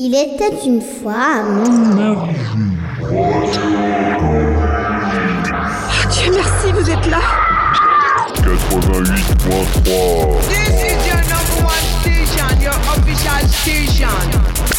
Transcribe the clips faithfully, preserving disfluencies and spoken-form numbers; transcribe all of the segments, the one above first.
Il était une fois... Dieu merci, vous êtes là. quatre-vingt-huit point trois. This is your number one station, your official station.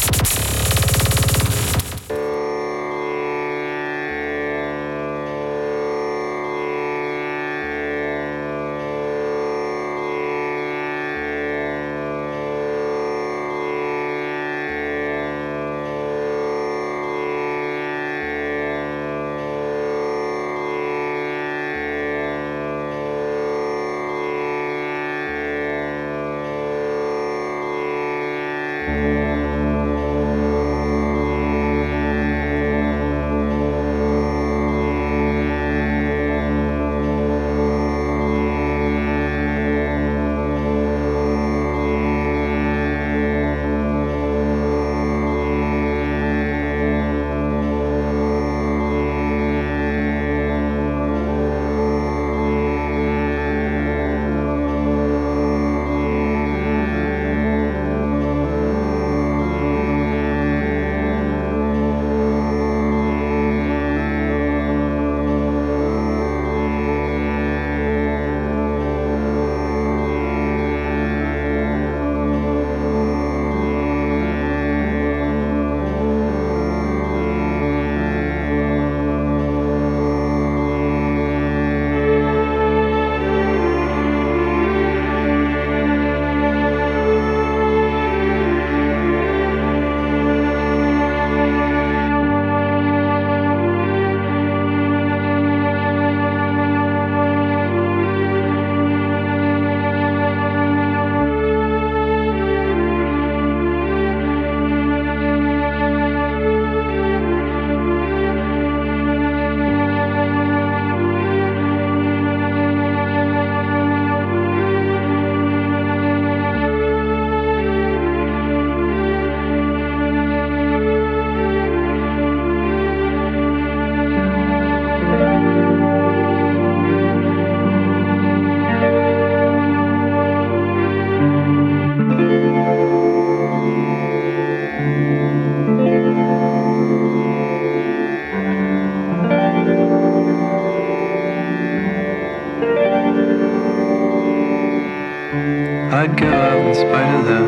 I'd go out in spite of them.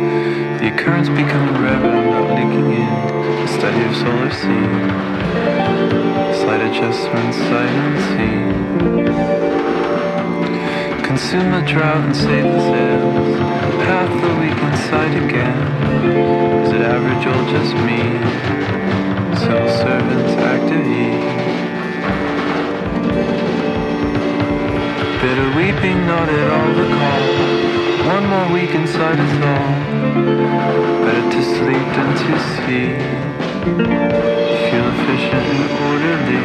The occurrence becoming reverent, not leaking in. The study of solar scene. Slight adjustments, sight unseen. Consume the drought and save the sails. Path the weak in sight again. Is it average or just me? Civil servants, active heat. Bitter weeping, not at all the call. One more week inside us all. Better to sleep than to see. Feel efficient and orderly.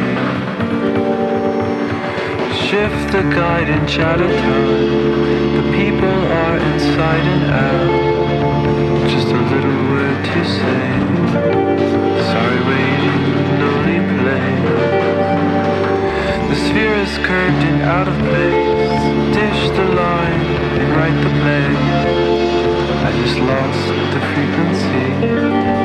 Shift the guide and chatter tone. The people are inside and out. Just a little word to say. Sorry waiting, lonely place. The sphere is curved and out of place. Dish the line and write the play. I just lost the frequency.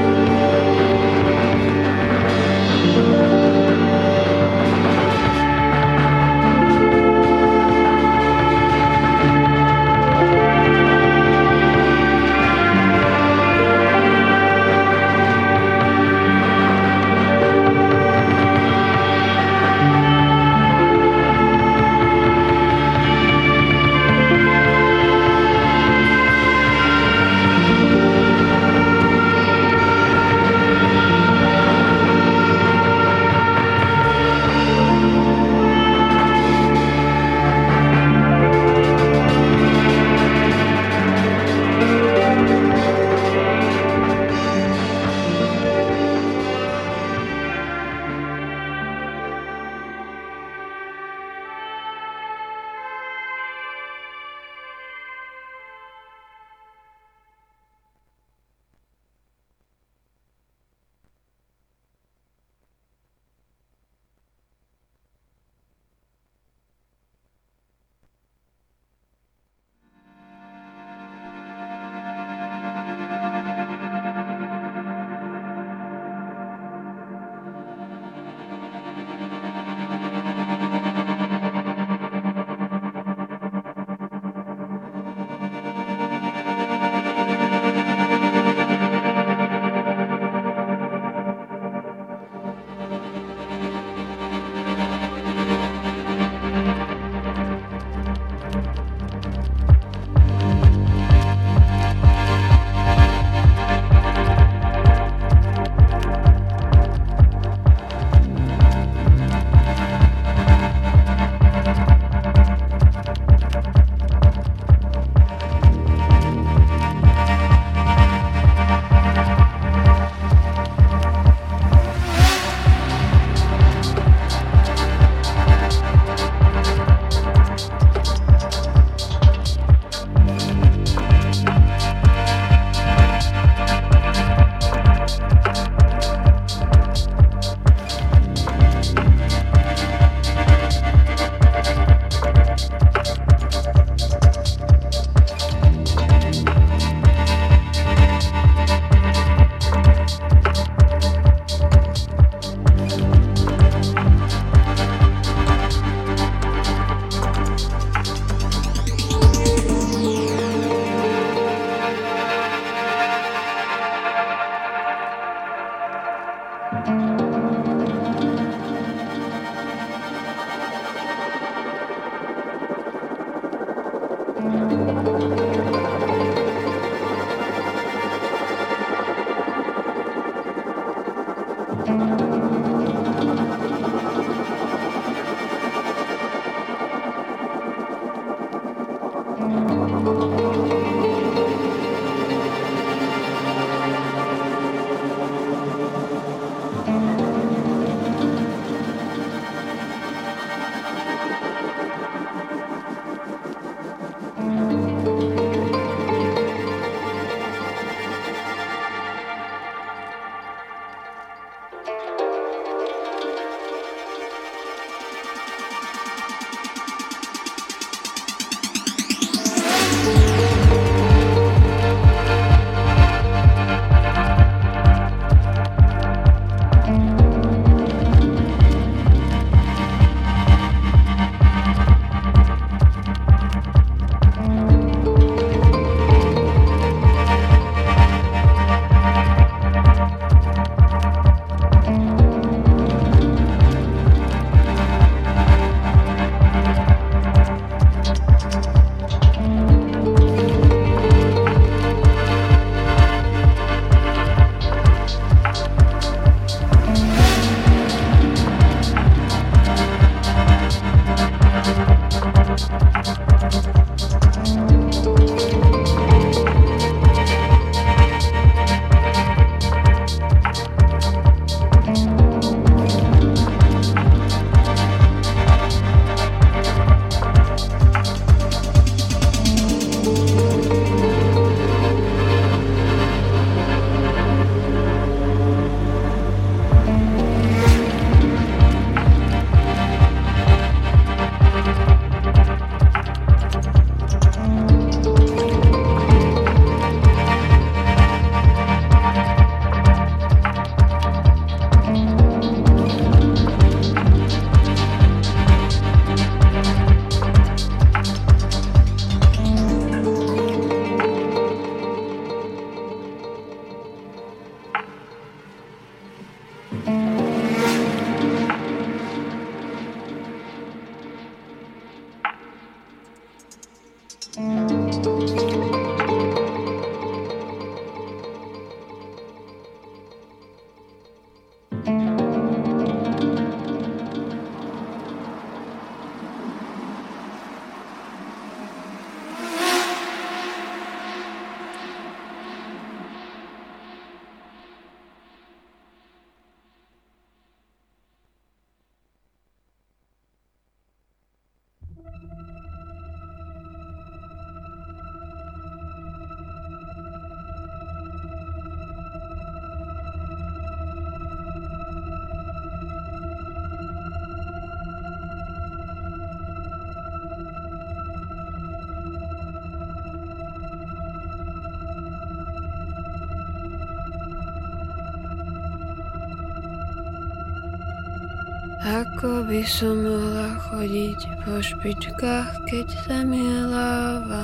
Ako by som mohla chodiť po špičkách, keď zem je láva.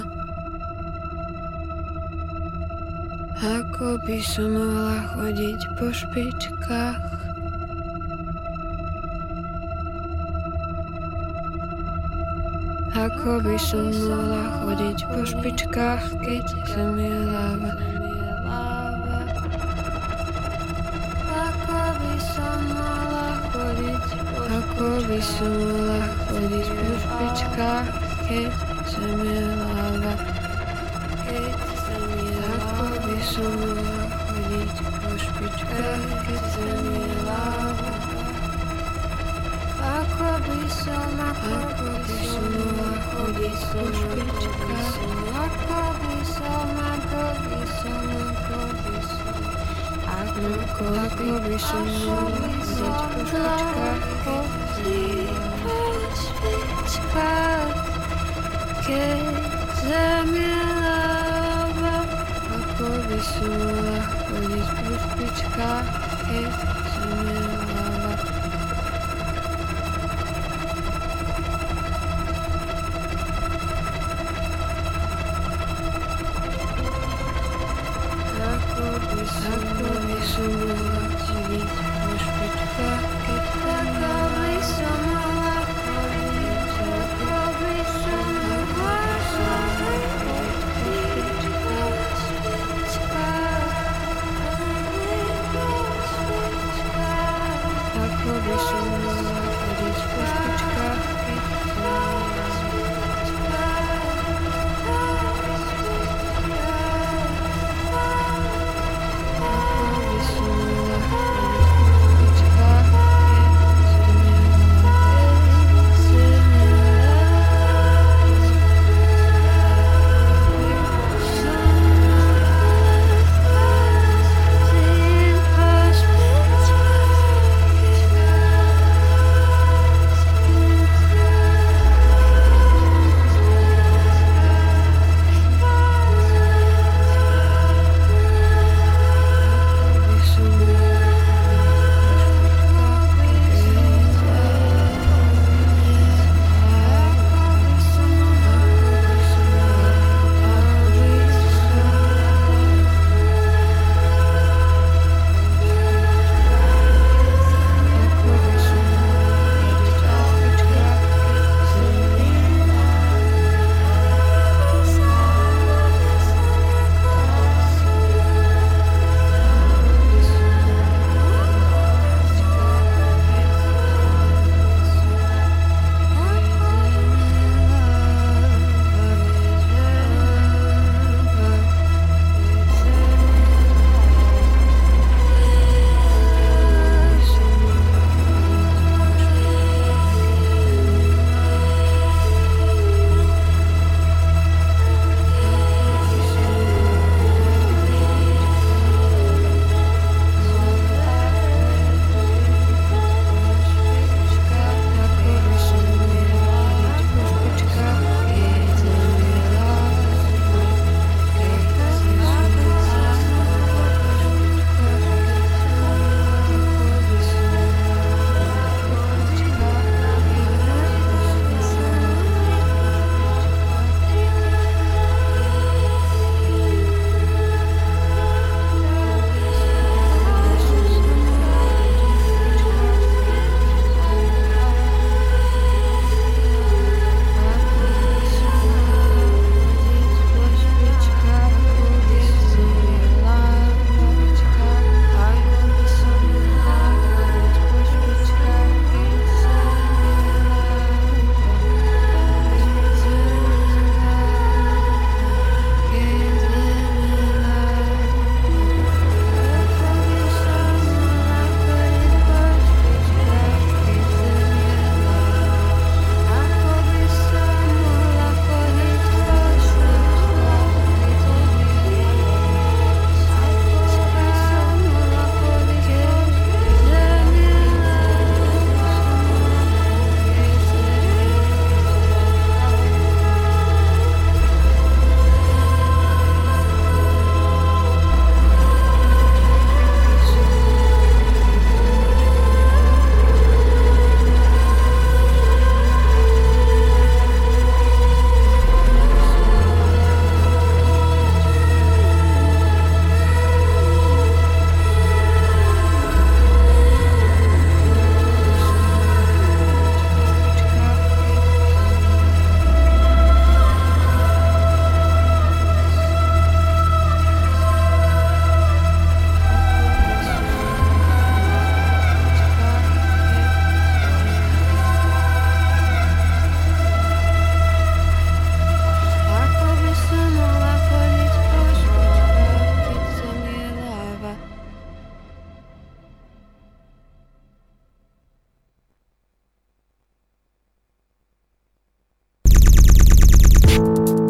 Ako by som mohla chodiť po špičkách. Ako by som mohla chodiť po špičkách, keď zem je láva. Ako by som mohla chodiť po špičkách, keď zem je láva. Ako by som mohla chodiť po špičkách, keď zem je láva. Ako by som, ako by som mohla chodiť po špičkách. Ako by som, ako by som, ako by som. Ako, ako by som mohla chodiť po špičkách. Po špičkách, keď zem je láva. Ako by som mohla chodiť po špičkách, keď zem je láva. Ako by som, ako by som mohla chodiť po špičkách, keď ako by som mohla chodiť, ako by som mohla chodiť po špičkách, po špičkách.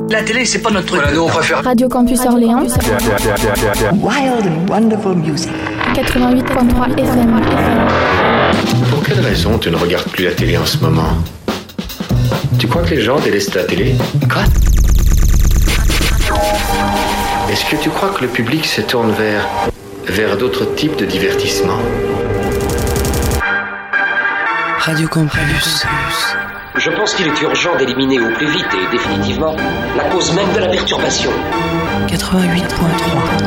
La télé, c'est pas notre truc. Voilà, nous on préfère Radio Campus Orléans. Wild and wonderful music. quatre-vingt-huit point trois F M. Pour quelle raison tu ne regardes plus la télé en ce moment? Tu crois que les gens délaissent la télé? Quoi? Est-ce que tu crois que le public se tourne vers, vers d'autres types de divertissements? Radio Campus. Je pense qu'il est urgent d'éliminer au plus vite et définitivement la cause même de la perturbation. quatre-vingt-huit point trois.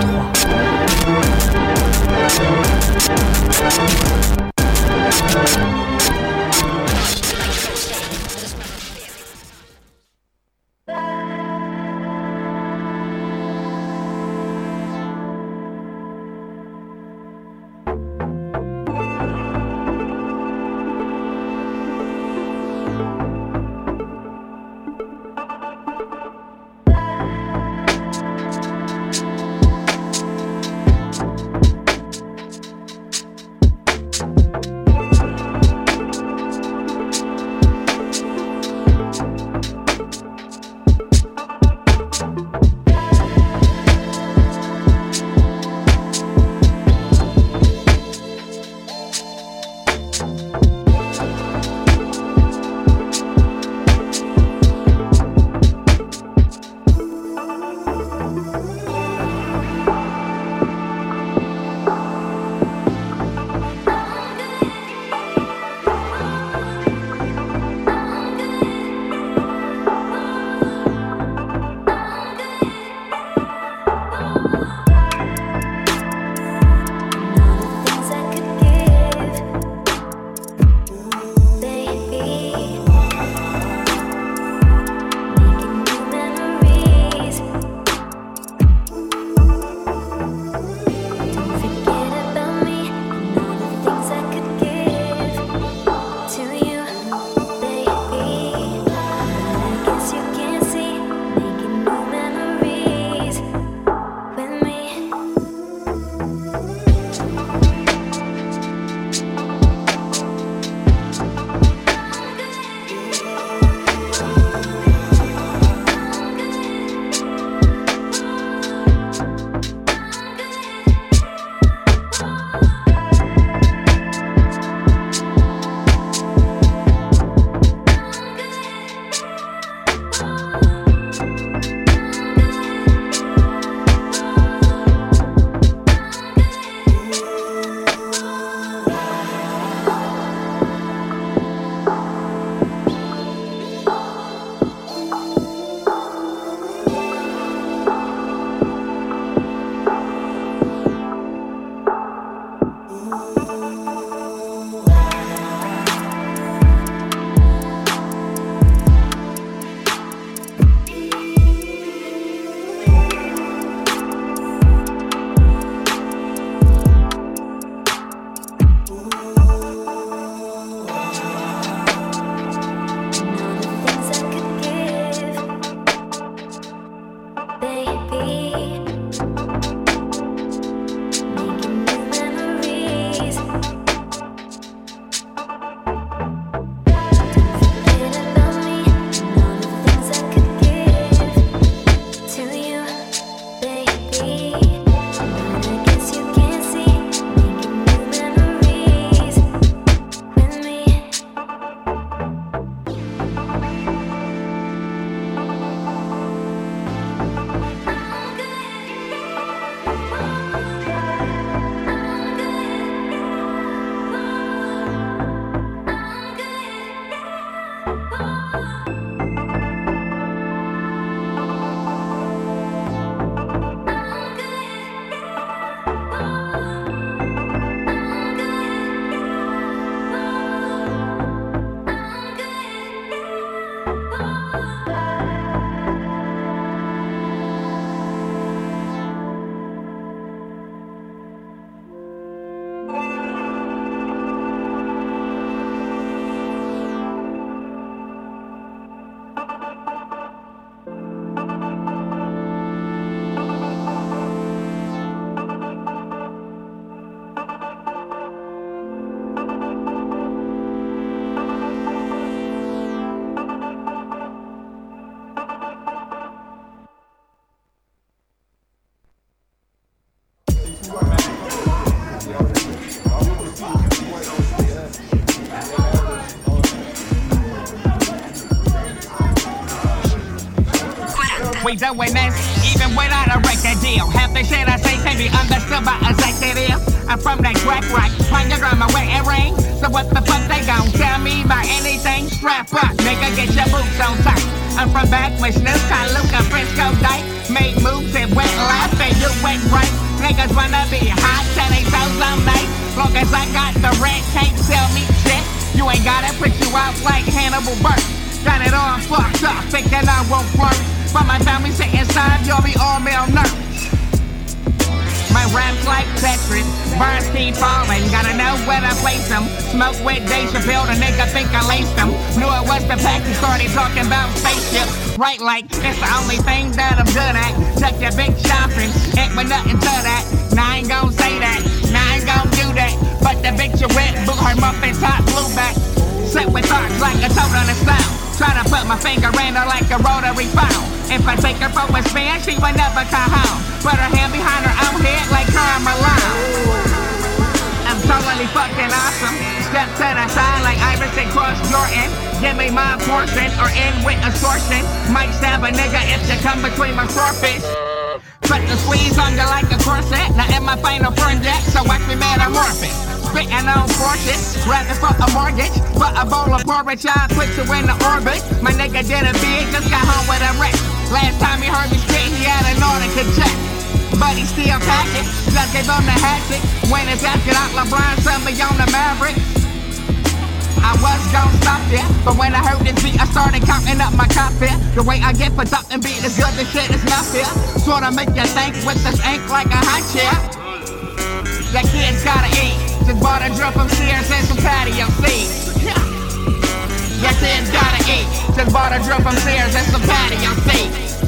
ain't doing this, even without a record deal. Half the shit I say can be understood by executive. I'm from that crack rock, find your grandma wearing ring. So what the fuck they gon' tell me about anything? Strap up, nigga, get your boots on tight. I'm from back when Snoop, Luca, Frisco, Dyke. Made moves and went left and you went right. Niggas wanna be hot, tell they toes on night. Long as I got the rent, can't sell me shit. You ain't gotta put you out like Hannibal Buress. Got it all fucked up, thinking I won't work. But my family sit inside, you'll be all malnourished. My rap's like Tetris, bars keep falling. Gotta know where to place them. Smoke with Dave Chappelle, the nigga think I laced them. Knew it was the pack, he started talking about spaceships. Right, like, it's the only thing that I'm good at. Check your big shopping, ain't with nothing to that. Now I ain't gon' say that, now I ain't gon' do that. But the bitch you with, boot her muffin top, blue back. Sit with thoughts like a toad on the style. Try to put my finger in her like a rotary foul. If I take her for a spin, she would never come home. Put her hand behind her own head like Carmelo. I'm totally fucking awesome. Step to the side like Iverson cross Jordan. Give me my portion or end with extortion. Might stab a nigga if you come between my swordfish. Put the squeeze on you like a corset. Now in my final friend yet, so watch me metamorphic. Spitting on forces, rapping for a mortgage. For a bowl of porridge, I'll put you in the orbit. My nigga did a big, just got home with a wreck. Last time he heard me spit, he had an Nautica jet. But he still packing, just gave him the hatchet. When it's after out, LeBron sent me on the Mavericks. I was gon' stop there, but when I heard this beat, I started counting up my cop here. The way I get put up and beat is good, this shit is not fair. Sorta make you think with this ink like a hot chair. That kid's gotta eat. Just bought a drill from Sears and some patio seats. That kid's gotta eat. Just bought a drill from Sears and some patio seats.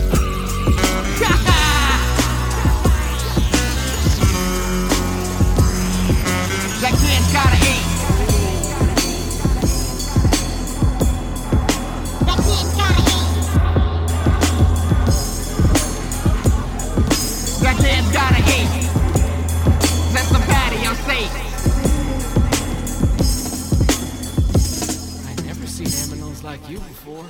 That kid's gotta eat. That kid's gotta eat. That kid's gotta eat. That's some patio seats. I never seen aminos like you before.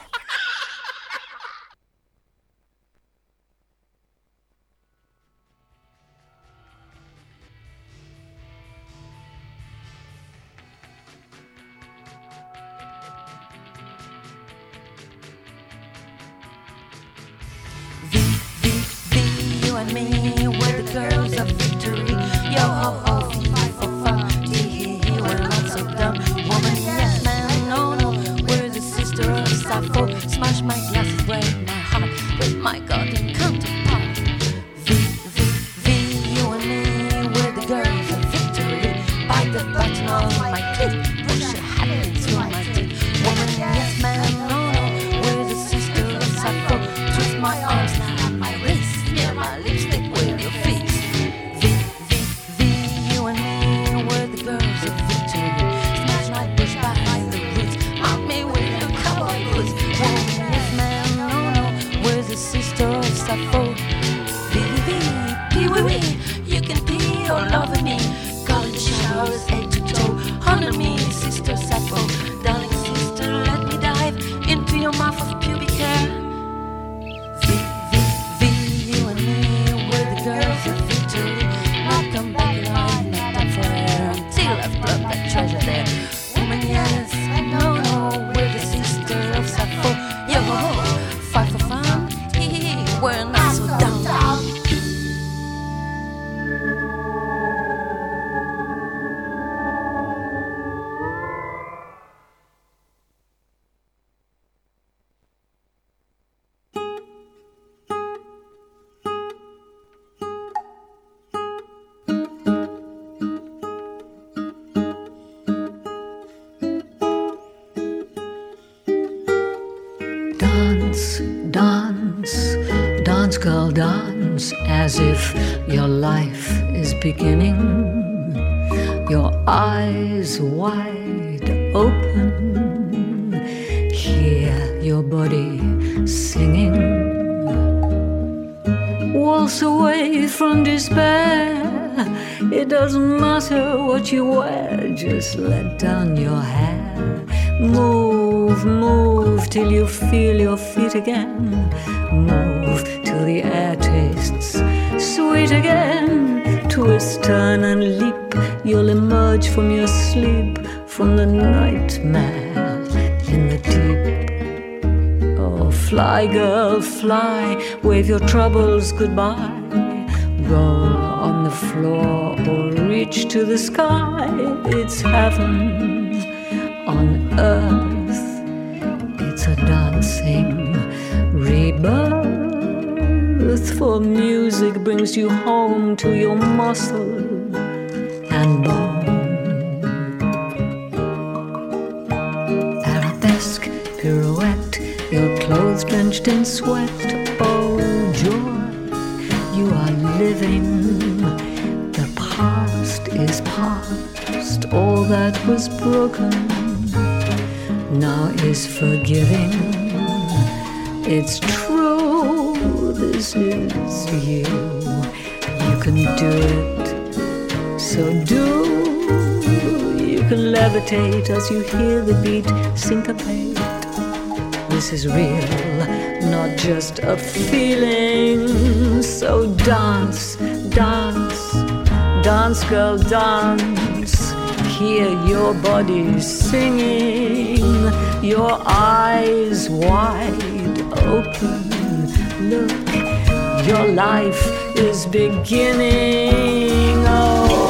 V, V, V, you and me, we're the girls of victory. Yo ho ho, fi for fun, tee hee, we're not so dumb. Woman, yes man, no no, we're the sister of Sappho. Smash my glasses, break my heart with my golden counterpart. V, V, V, you and me, we're the girls of victory. Bite the button on my clit, push your hat into my dick. Woman, yes man, no no, we're the sister of Sappho. Twist my arms now at my waist, smear my lipstick with your face. V, V, V, you and me, we're the girls of victory. Smash my bush by the roots, mount me with your cowboy boots. Woman, yes man, no no, we're the sister of Sappho. V, V, V, pee wee wee, you can pee all over me. Golden showers head to toe, under me, sister Sappho. Darling sister, let me dive into your mouth of pubic hair. V, V, V, you and me, we're the girls of victory. I'll come back alive, not done for air, until I've plucked that treasure there. Woman, yes, no, no, we're the sister of Sappho. Yo ho ho, fight for fun, hee hee, we're not so dumb. Dance, dance, dance, girl, dance, as if your life is beginning. Your eyes wide open, hear your body singing. Waltz away from despair. It doesn't matter what you wear, just let down your hair. Move, move till you feel your feet again. Move the air tastes sweet again. Twist, turn and leap, you'll emerge from your sleep, from the nightmare in the deep. Oh, fly girl, fly, wave your troubles goodbye. Roll on the floor or reach to the sky. It's heaven on earth. It's a dancing rebirth. For music brings you home to your muscle and bone. Arabesque pirouette, your clothes drenched in sweat. Oh, joy. You are living, the past is past, all that was broken now is forgiving. It's true, this is you, you can do it, so do. You can levitate as you hear the beat syncopate. This is real, not just a feeling. So dance, dance, dance girl, dance. Hear your body singing, your eyes wide open. Look, your life is beginning. Oh,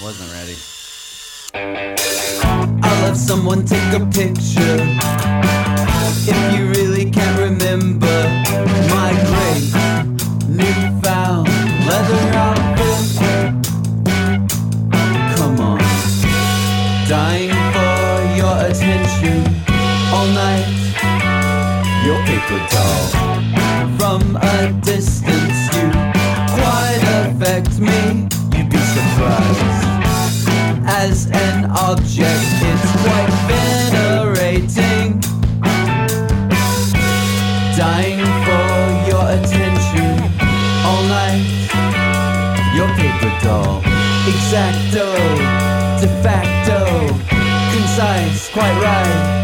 Wasn't ready. I'll have someone take a picture. If you really can't remember my great newfound leather outfit, come on. Dying for your attention all night. Your paper doll. From a distance you quite affect me. You'd be surprised. As an object it's quite venerating. Dying for your attention all night. Your paper doll. Exacto, de facto, concise, quite right.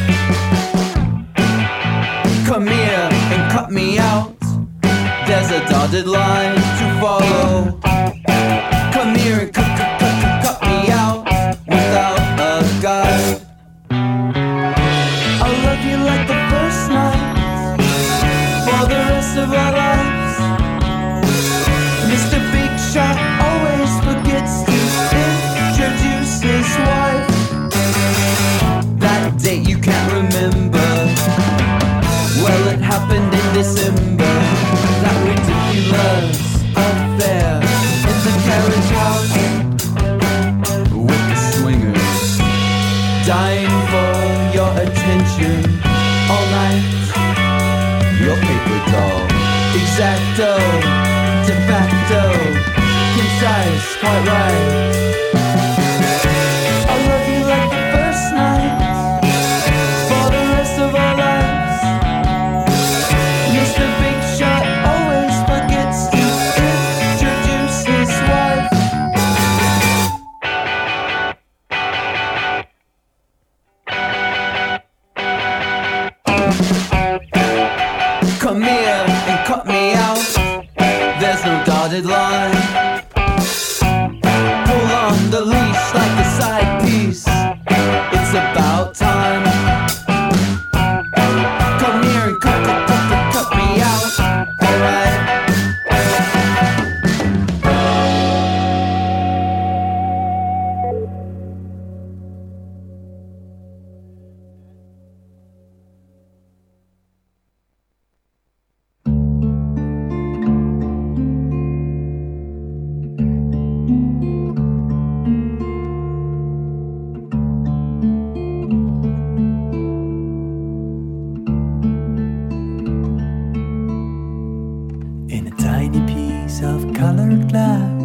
Come here and cut me out. There's a dotted line to follow. Come here and cut, cut, cut, cut me out without a guide. I'll love you like the first night for the rest of our lives. Mister Big Shot always forgets to introduce his wife. That date you can't remember. Well, it happened in December. That ridiculous affair in the carriage house with the swingers. Dying for your attention all night. Your paper doll. Exacto, de facto, concise, quite right. I love you like the first night for the rest of our lives. Mister Big Shot always forgets to introduce his wife. Come here and cut me out. There's no dotted line. Pull on the leash like a side piece. It's about time. Come here and cut, cut, cut, cut, cut me out. Alright. In a tiny piece of colored glass,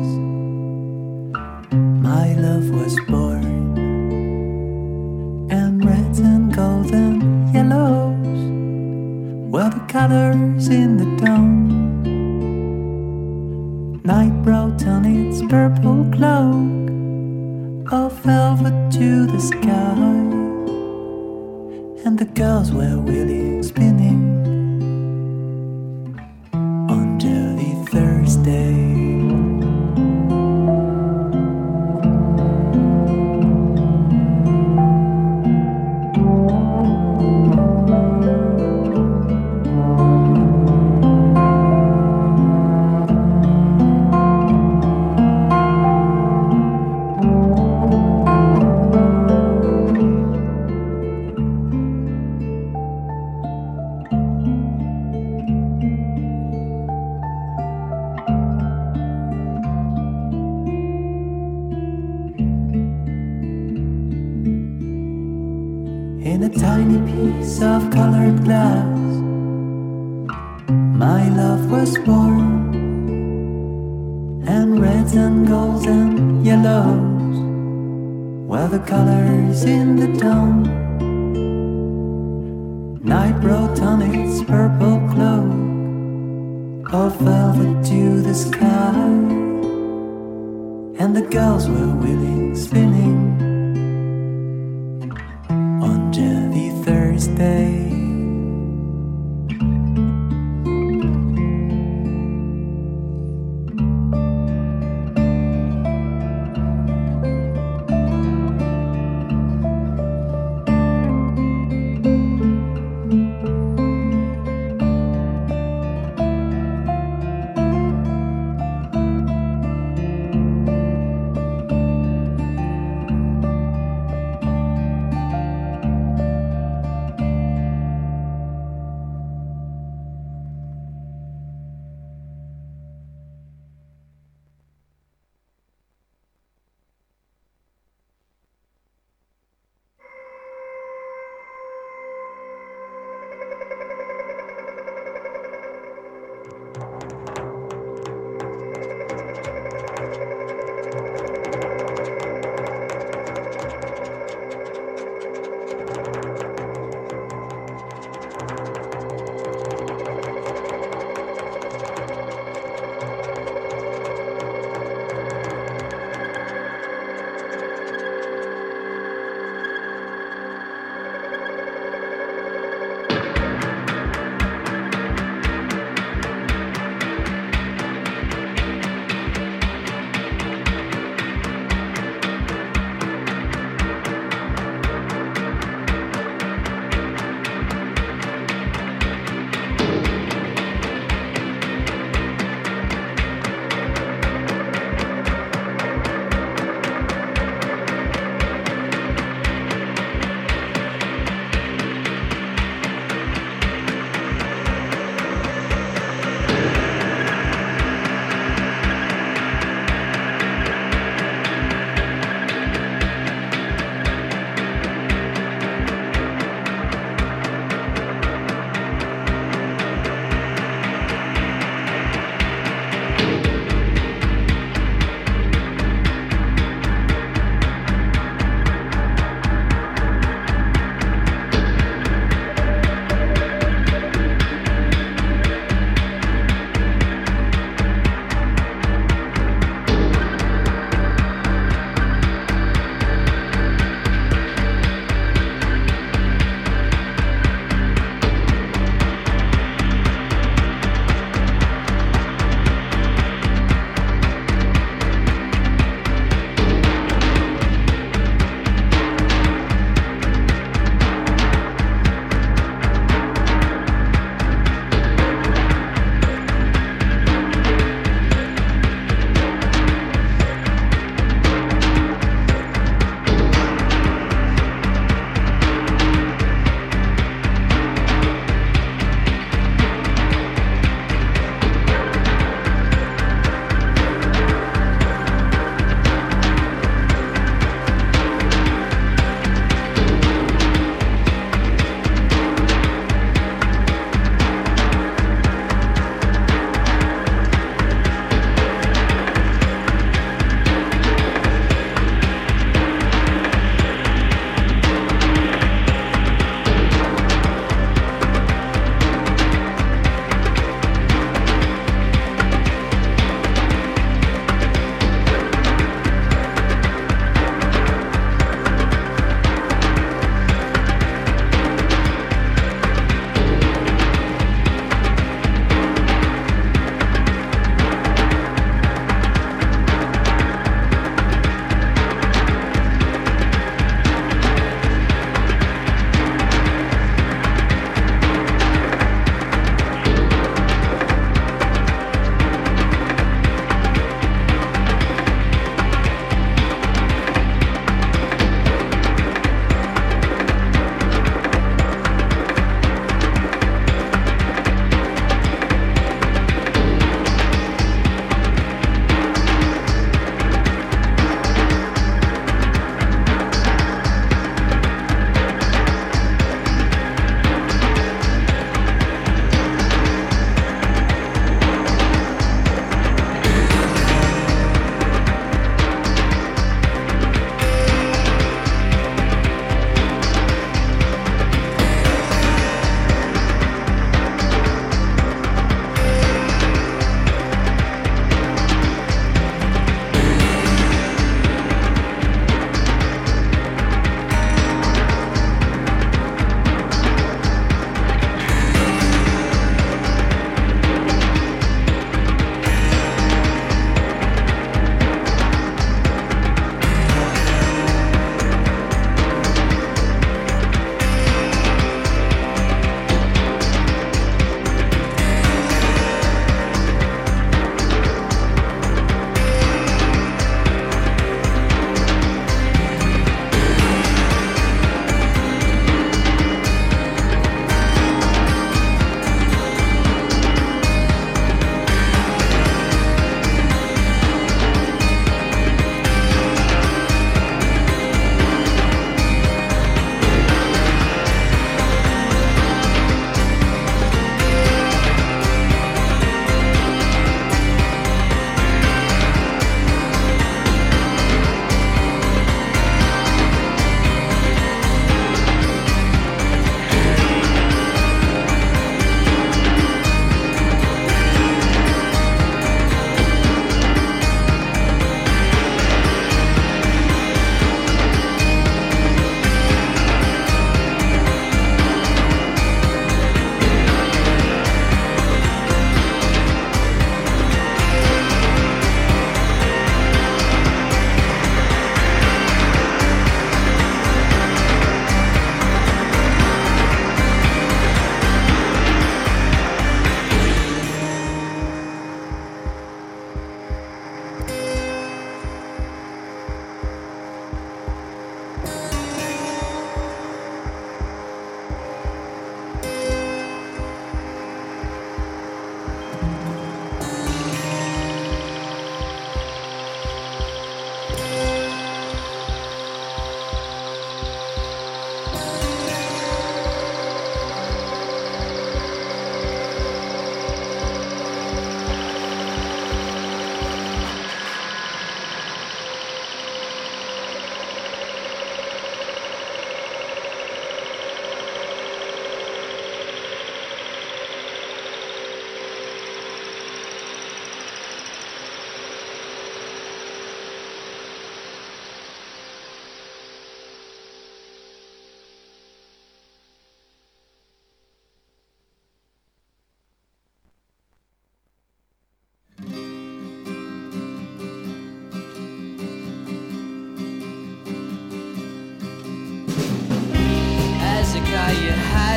my love was born. And reds and golden yellows were the colors in the dawn. Night brought on its purple cloak of velvet to the sky, and the girls were wheeling, spinning on Dirty Thursday. In a tiny piece of colored glass, my love was born. And reds and golds and yellows were the colors in the dawn. Night brought on its purple cloak of velvet to the sky, and the girls were wheeling, spinning on Dirty Thursday.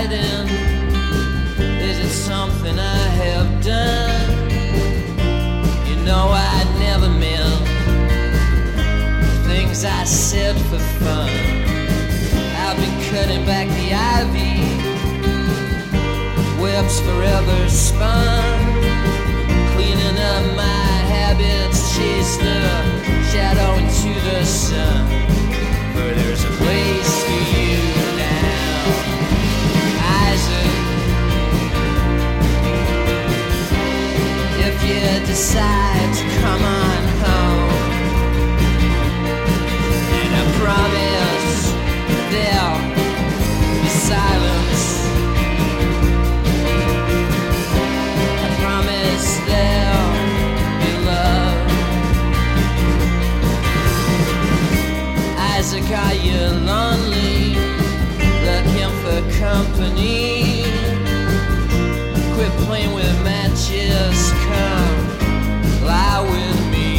hiding? Is it something I have done? You know I never meant things I said for fun. I've been cutting back the ivy, webs forever spun, cleaning up my habits, chase the shadow into the sun. For there's a place for you now, Isaac. If you decide to come on home, and I promise there'll be silence. I promise there'll be love. Isaac, are you lonely? Looking for company? Quit playing with matches, come lie with me.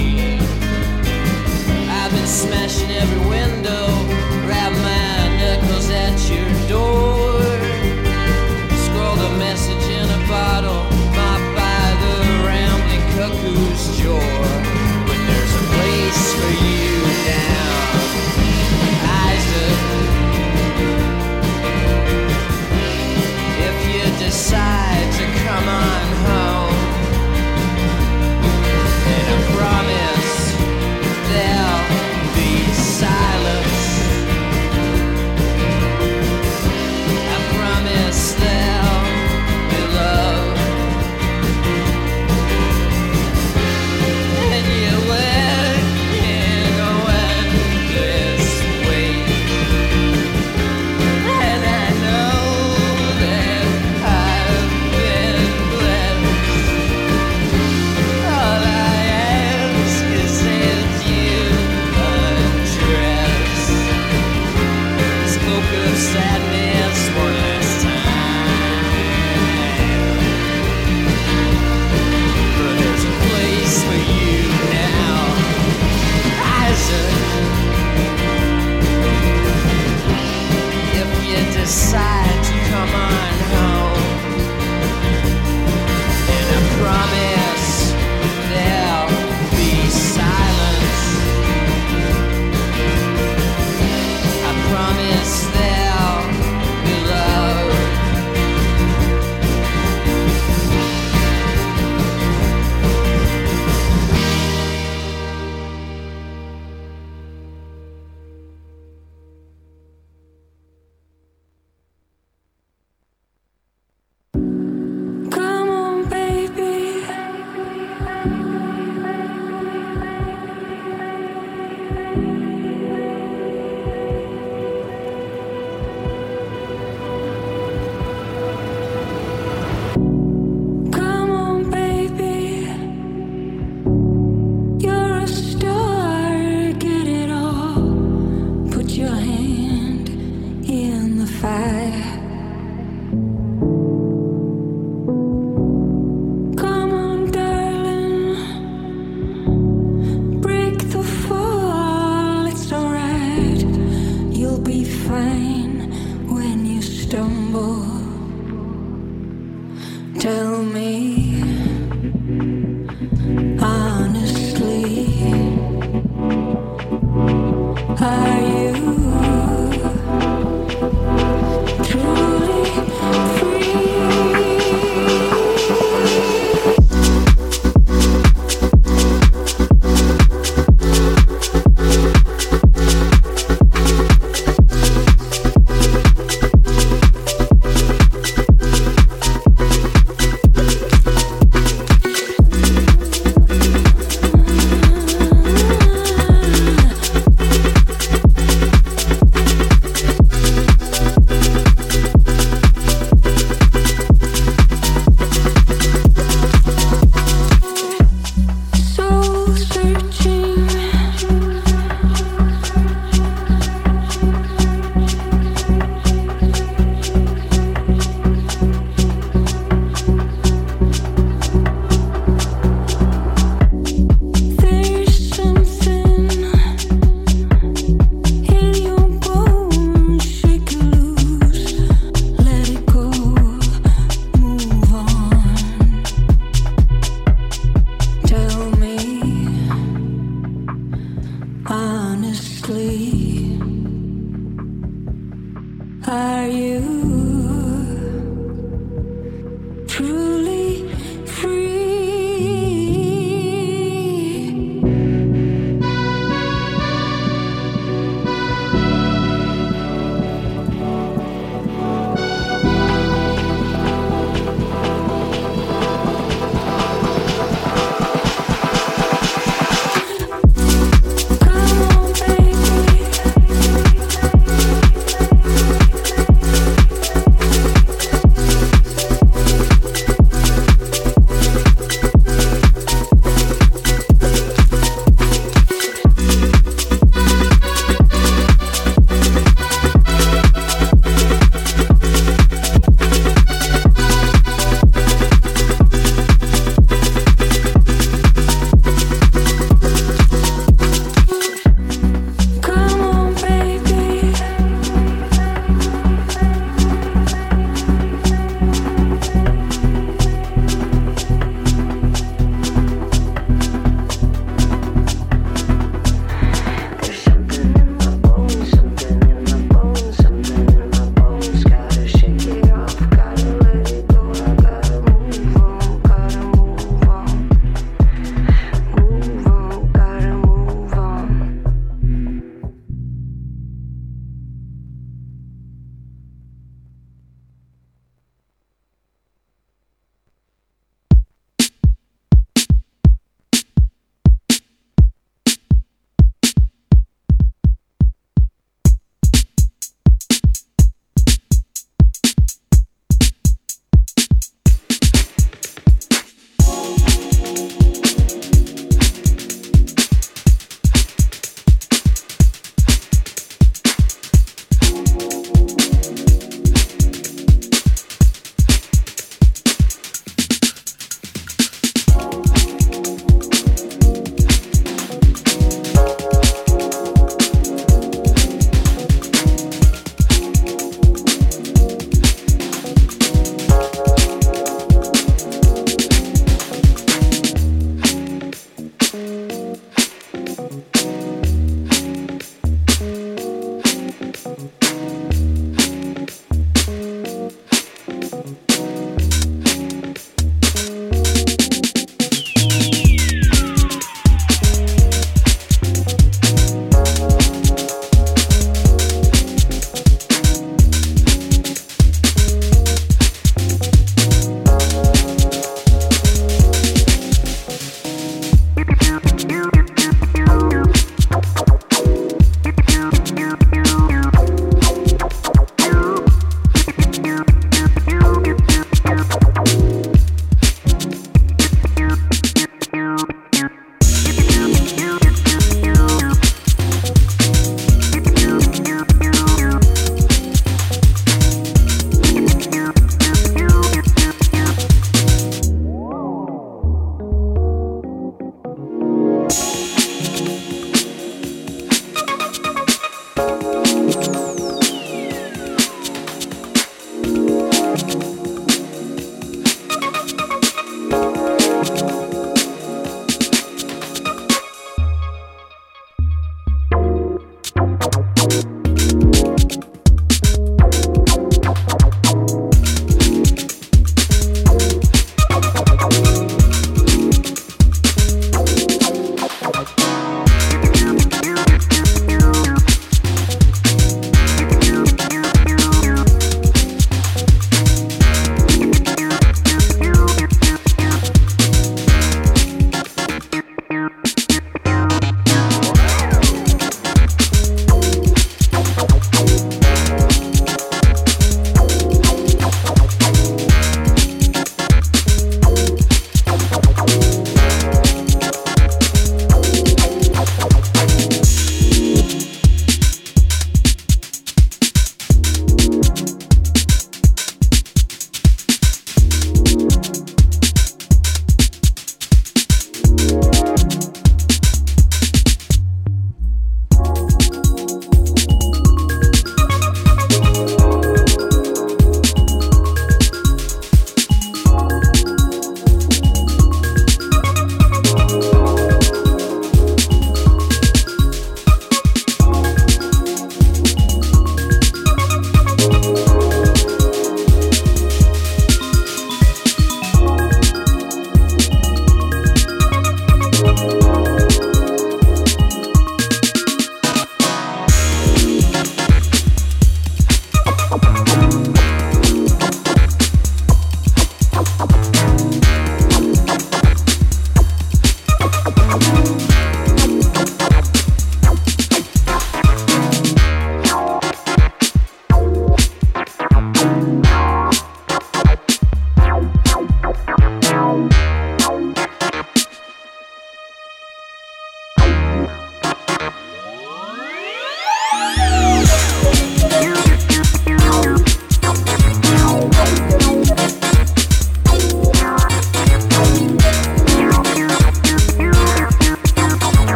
I've been smashing every window, grab my knuckles at your door. Scroll the message in a bottle, mopped by the rambling cuckoo's jaw. But there's a place for you now, Isaac. If you decide to come on home, and I promise there'll be silence. I promise there'll be love. And you work in a endless way, and I know that I've been blessed. All I ask is that you undress this cloak of sadness one last time. But there's a place for you now, Isaac. If you decide to come on home, and I promise there'll be silence. I promise there'll be love. Come on, baby. Come on, baby. You're a star, get it all. Put your hand in the fire. Come on, darling.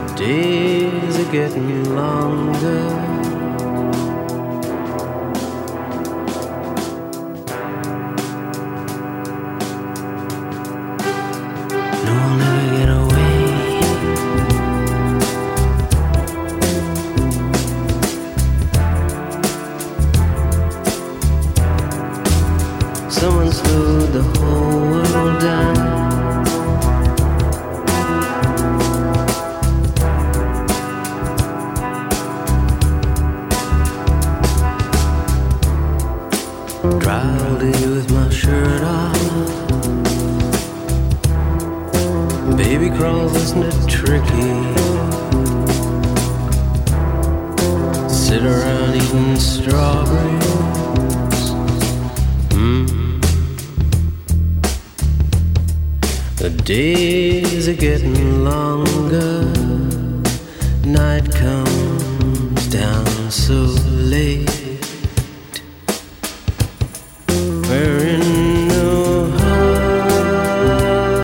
The days are getting longer. No, I'll never get away. Someone slowed the whole world down. Drowsy with my shirt off. Baby crawls, isn't it tricky? Sit around eating strawberries. Mm. The days are getting longer. Night comes down so late.